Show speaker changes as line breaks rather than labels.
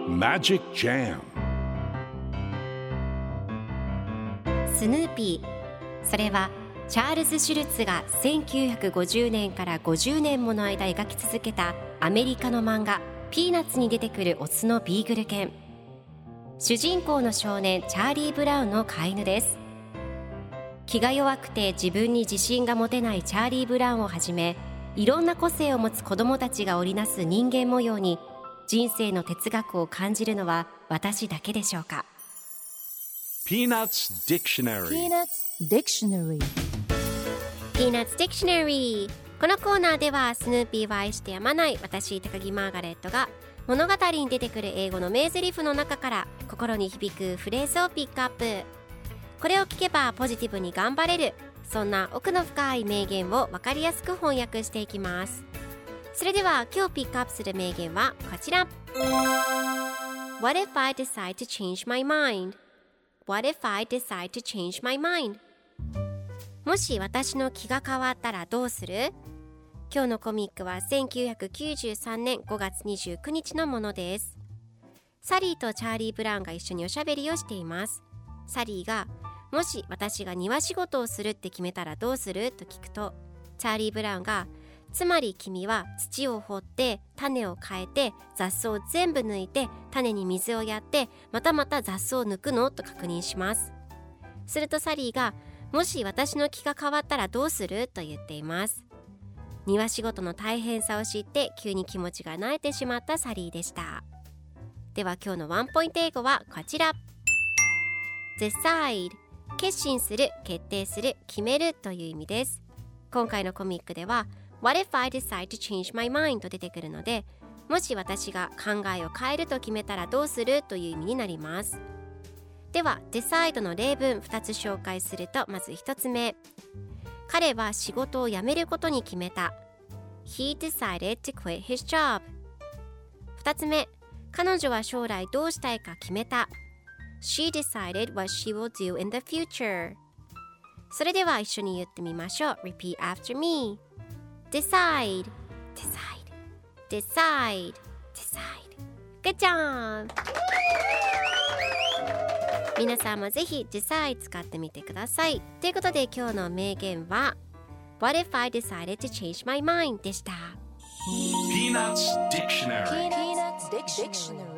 Magic Jam
スヌーピー、それはチャールズ・シュルツが1950年から50年もの間描き続けたアメリカの漫画ピーナッツに出てくるオスのビーグル犬。主人公の少年チャーリー・ブラウンの飼い犬です。気が弱くて自分に自信が持てないチャーリー・ブラウンをはじめ、いろんな個性を持つ子どもたちが織りなす人間模様に人生の哲学を感じるのは私だけでしょうか。
Peanuts Dictionary
Peanuts Dictionary。 このコーナーではスヌーピーを愛してやまない私高木マーガレットが物語に出てくる英語の名台詞の中から心に響くフレーズをピックアップ。これを聞けばポジティブに頑張れる、そんな奥の深い名言を分かりやすく翻訳していきます。それでは今日ピックアップする名言はこちら。 What if I decide to change my mind? What if I decide to change my mind? もし私の気が変わったらどうする？今日のコミックは1993年5月29日のものです。サリーとチャーリー・ブラウンが一緒におしゃべりをしています。サリーがもし私が庭仕事をするって決めたらどうする？と聞くと、チャーリー・ブラウンがつまり君は土を掘って種を変えて雑草を全部抜いて種に水をやってまた雑草を抜くの？と確認します。するとサリーがもし私の気が変わったらどうする？と言っています。庭仕事の大変さを知って急に気持ちが慣れてしまったサリーでした。では今日のワンポイント英語はこちら。 Decide、 決心する、決定する、決めるという意味です。今回のコミックでは What if I decide to change my mind? と出てくるので、もし私が考えを変えると決めたらどうするという意味になります。では Decide の例文2つ紹介すると、まず1つ目、彼は仕事を辞めることに決めた。 He decided to quit his job。 2つ目、彼女は将来どうしたいか決めた。 She decided what she will do in the future。 それでは一緒に言ってみましょう。 Repeat after me。 Decide Decide Decide Decide。 Good job。 皆さんもぜひ Decide 使ってみてください。ということで今日の名言は What if I decided to change my mind? でした。
Peanuts Dictionary